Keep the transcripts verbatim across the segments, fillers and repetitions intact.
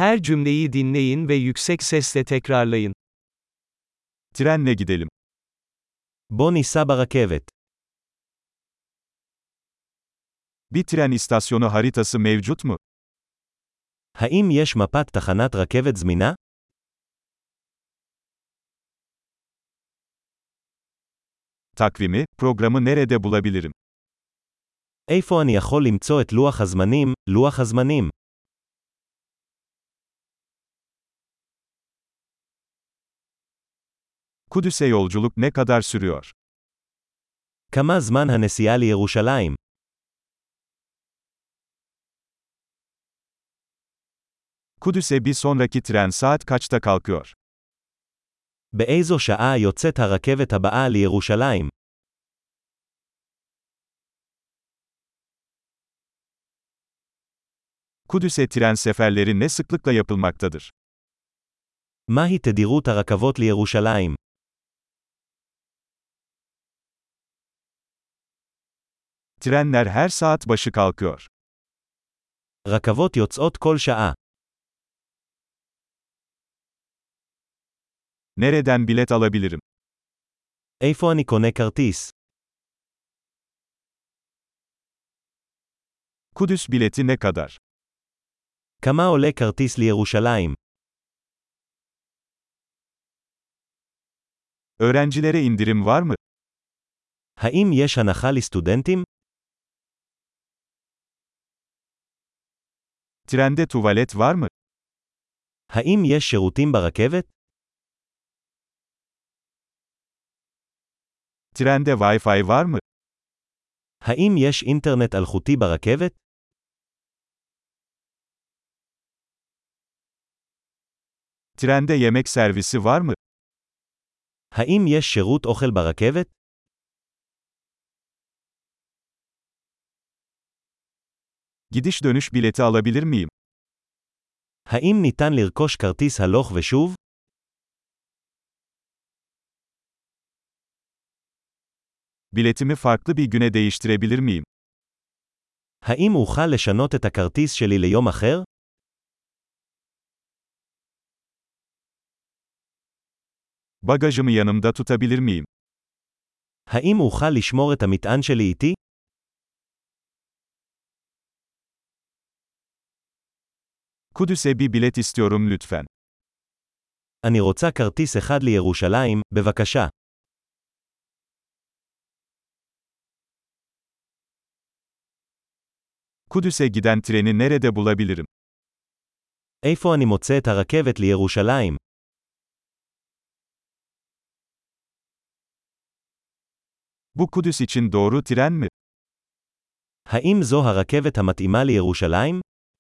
Her cümleyi dinleyin ve yüksek sesle tekrarlayın. Trenle gidelim. בוא ניסע ברכבת. Bir tren istasyonu haritası mevcut mu? האם יש מפת תחנת רכבת זמינה? Takvimi, programı nerede bulabilirim? איפה אני יכול למצוא את לוח הזמנים, לוח הזמנים? Kudüs'e yolculuk ne kadar sürüyor? כמה זמן הנסיעה לירושלים? Kudüs'e bir sonraki tren saat kaçta kalkıyor? באיזו שעה יוצאת הרכבת הבאה לירושלים? Kudüs'e tren seferleri ne sıklıkla yapılmaktadır? מהי תדירות הרכבות לירושלים? Trenler her saat başı kalkıyor. רכבות יוצאות כל שעה. Nereden bilet alabilirim? איפה אני קונה כרטיס? Kudüs bileti ne kadar? כמה עולה כרטיס לירושלים? Öğrencilere indirim var mı? האם יש הנחה לסטודנטים? Trende tuvalet var mı? האם יש שירותים ברכבת? Trende Wi-Fi var mı? האם יש אינטרנט אלחוטי ברכבת? Trende yemek servisi var mı? האם יש שירות אוכל ברכבת? Gidiş dönüş bileti alabilir miyim? האם ניתן לרכוש כרטיס הלוך ושוב? Biletimi farklı bir güne değiştirebilir miyim? האם אוכל לשנות את הכרטיס שלי ליום אחר? Bagajımı yanımda tutabilir miyim? האם אוכל לשמור את המטען שלי איתי? Kudüs'e bir bilet istiyorum lütfen. אני רוצה כרטיס אחד לירושלים, בבקשה. Kudüs'e giden treni nerede bulabilirim? איפה אני מוצא את הרכבת לירושלים? Bu Kudüs için doğru tren mi? האם זו הרכבת המתאימה לירושלים?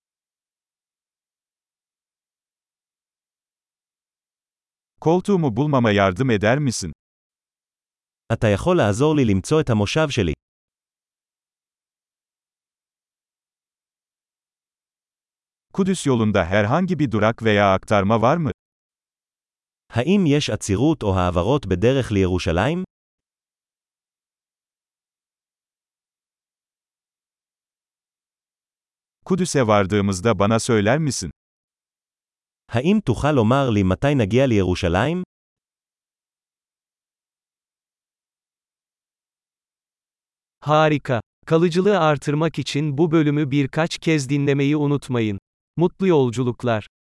Koltuğumu bulmama yardım eder misin? אתה יכול לעזור לי למצוא את המושב שלי. Kudüs yolunda herhangi bir durak veya aktarma var mı? האם יש עצירות או העברות בדרך לירושלים? Kudüs'e vardığımızda bana söyler misin? האם תוכל לומר לי מתי נגיע לירושלים? Harika. Kalıcılığı artırmak için bu bölümü birkaç kez dinlemeyi unutmayın. Mutlu yolculuklar.